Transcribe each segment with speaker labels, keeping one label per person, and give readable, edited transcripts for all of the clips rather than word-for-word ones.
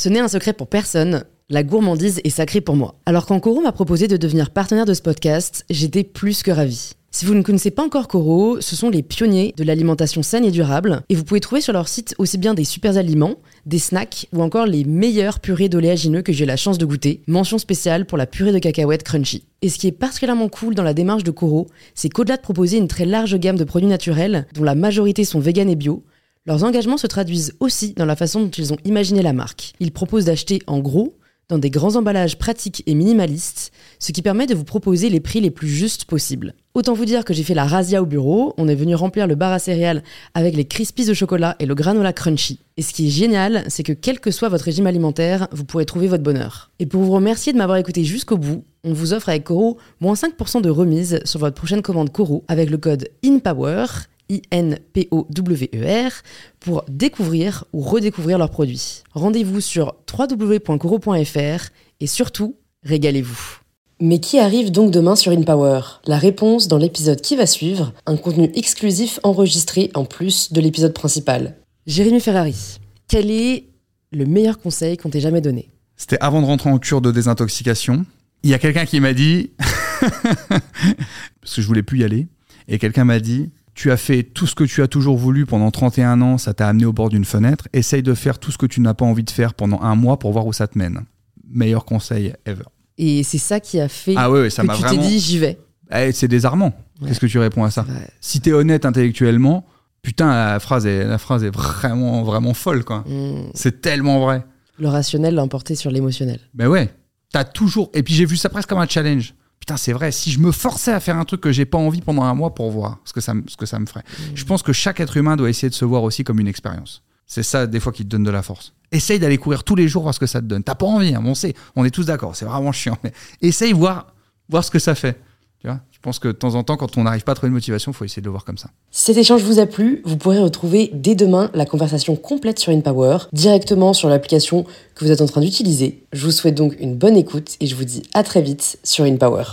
Speaker 1: Ce n'est un secret pour personne, la gourmandise est sacrée pour moi. Alors quand Koro m'a proposé de devenir partenaire de ce podcast, j'étais plus que ravie. Si vous ne connaissez pas encore Koro, ce sont les pionniers de l'alimentation saine et durable, et vous pouvez trouver sur leur site aussi bien des super aliments, des snacks ou encore les meilleures purées d'oléagineux que j'ai eu la chance de goûter. Mention spéciale pour la purée de cacahuètes crunchy. Et ce qui est particulièrement cool dans la démarche de Koro, c'est qu'au-delà de proposer une très large gamme de produits naturels, dont la majorité sont véganes et bio, leurs engagements se traduisent aussi dans la façon dont ils ont imaginé la marque. Ils proposent d'acheter en gros, dans des grands emballages pratiques et minimalistes, ce qui permet de vous proposer les prix les plus justes possibles. Autant vous dire que j'ai fait la razzia au bureau, on est venu remplir le bar à céréales avec les Crispies au chocolat et le granola crunchy. Et ce qui est génial, c'est que quel que soit votre régime alimentaire, vous pourrez trouver votre bonheur. Et pour vous remercier de m'avoir écouté jusqu'au bout, on vous offre avec Koro moins 5% de remise sur votre prochaine commande Koro avec le code INPOWER, INPOWER, pour découvrir ou redécouvrir leurs produits. Rendez-vous sur www.koro.fr et surtout, régalez-vous. Mais qui arrive donc demain sur InPower ? La réponse dans l'épisode qui va suivre, un contenu exclusif enregistré en plus de l'épisode principal. Jérémy Ferrari, quel est le meilleur conseil qu'on t'ait jamais donné ?
Speaker 2: C'était avant de rentrer en cure de désintoxication. Il y a quelqu'un qui m'a dit, parce que je voulais plus y aller, et quelqu'un m'a dit, tu as fait tout ce que tu as toujours voulu pendant 31 ans, ça t'a amené au bord d'une fenêtre, essaye de faire tout ce que tu n'as pas envie de faire pendant un mois pour voir où ça te mène. Meilleur conseil ever. Et
Speaker 1: c'est ça qui a fait
Speaker 2: ça
Speaker 1: que
Speaker 2: m'a
Speaker 1: tu
Speaker 2: vraiment...
Speaker 1: t'es dit j'y vais.
Speaker 2: C'est désarmant. Ouais. Qu'est-ce que tu réponds à ça ? Si t'es honnête intellectuellement, putain, la phrase est vraiment, vraiment folle, quoi. C'est tellement vrai.
Speaker 1: Le rationnel l'a emporté sur l'émotionnel.
Speaker 2: Ben ouais, t'as toujours... Et puis j'ai vu ça presque comme un challenge. Putain, c'est vrai, si je me forçais à faire un truc que j'ai pas envie pendant un mois pour voir ce que ça me ferait. Je pense que chaque être humain doit essayer de se voir aussi comme une expérience. C'est ça, des fois, qui te donne de la force. Essaye d'aller courir tous les jours, voir ce que ça te donne. T'as pas envie, hein, on est tous d'accord, c'est vraiment chiant. Mais essaye voir ce que ça fait. Tu vois, je pense que de temps en temps, quand on n'arrive pas à trouver une motivation, il faut essayer de le voir comme ça.
Speaker 1: Si cet échange vous a plu, vous pourrez retrouver dès demain la conversation complète sur InPower, directement sur l'application que vous êtes en train d'utiliser. Je vous souhaite donc une bonne écoute et je vous dis à très vite sur InPower.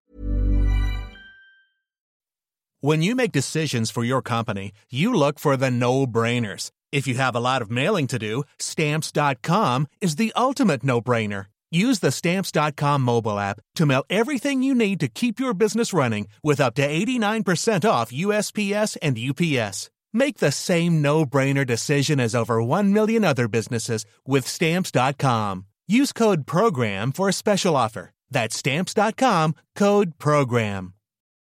Speaker 3: When you make decisions for your company, you look for the no-brainers. If you have a lot of mailing to do, Stamps.com is the ultimate no-brainer. Use the Stamps.com mobile app to mail everything you need to keep your business running with up to 89% off USPS and UPS. Make the same no-brainer decision as over 1 million other businesses with Stamps.com. Use code PROGRAM for a special offer. That's Stamps.com, code PROGRAM.